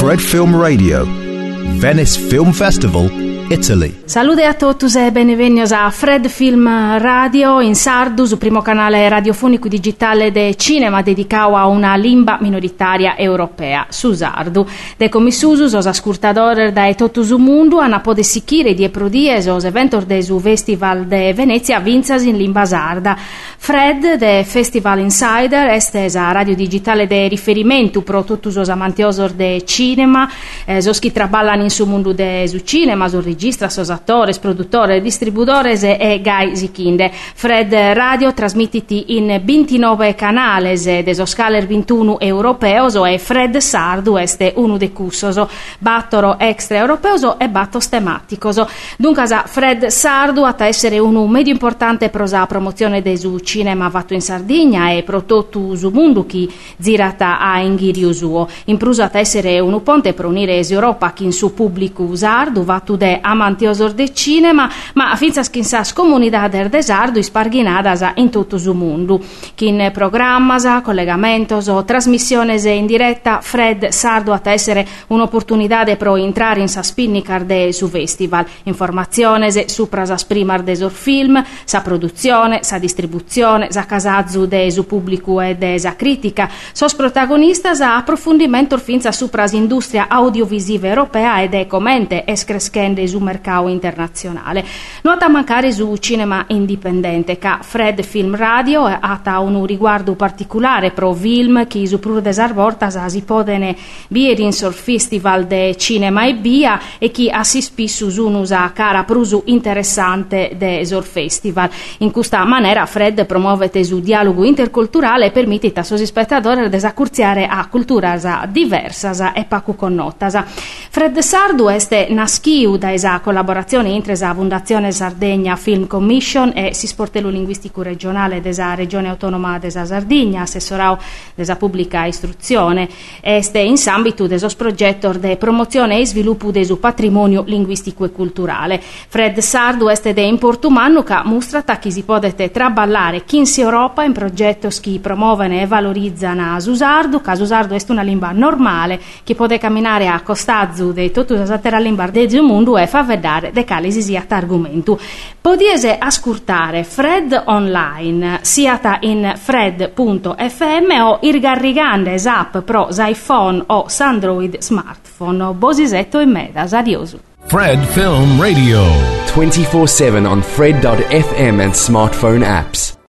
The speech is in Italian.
Fred Film Radio, Venice Film Festival, Italy. Salute a tutti e benvenuti a Fred Film Radio in sardu, sul primo canale radiofonico digitale de cinema dedicato a una lingua minoritaria europea, su sardu. De commissusus os ascoltadores da tutto il mondo hanno pode sicire di prodies os eventos de su Festival de Venezia vinzas in lingua sarda. Fred de Festival Insider este a radio digitale de riferimento pro tutti os amantiosor de cinema, sos chi traballan in su mondo de su cinema, sos registra, sos attores, produttores, distributores e gai zichinde. Fred Radio trasmittiti in 29 canales de sos scaler 21 europeos e Fred Sardu este uno de cussos battoro extra europeos e battos tematicos. Dunque Fred Sardu a essere un medio importante pro sa promozione de su cinema fatto in Sardegna e pro tutto su mondo chi zirata a inghirio suo. In pruso a essere un ponte per unire Europa chi in su pubblico sardu vatto de amantiosor de cinema, ma finza schinsas comunidades de sardu isparghinadas in tutto il mondo. Chi in programmas, collegamentos o trasmissiones in diretta, Fred Sardu a essere un'opportunità pro entrare in sa spinnicar de su festival. Informaziones supra sa primar de sor film, sa produzione, sa distribuzione, sa casazzu de su pubblico e de sa critica, sos protagonistas a approfondimento finza supra industria audiovisiva europea ed è commente escrescende su mercato internazionale. Nota mancare su cinema indipendente che Fred Film Radio ha un riguardo particolare pro film che su prur desarvortas si podene viere in sor festival de cinema e via e chi assispissu unusa cara prusu interessante de sor festival. In questa maniera Fred promuovete su dialogo interculturale e permette a suoi spettatori desacurziare a culturas diversas e pacu connotas. Fred Sardu este naschiu da esa collaborazione intra la Fondazione Sardegna Film Commission e si sportello linguistico regionale della regione autonoma della Sardegna, assessorau della pubblica istruzione, este in ambito de sos progettos de promozione e sviluppo de su patrimonio linguistico e culturale. Fred Sardu este de importumano che mostra che si potete traballare chi in Europa in progetti che promuovono e valorizzano su sardu, che su sardu è una lingua normale che può camminare a costazzo de tutte le altre lingue del mondo e fa vedere de quali si sia argomento. Potete ascoltare Fred online sia in fred.fm o irgarrigande app pro iPhone o Android smartphone. Bosisetto e medas. Adios. Fred Film Radio 24/7 on Fred.fm and smartphone apps.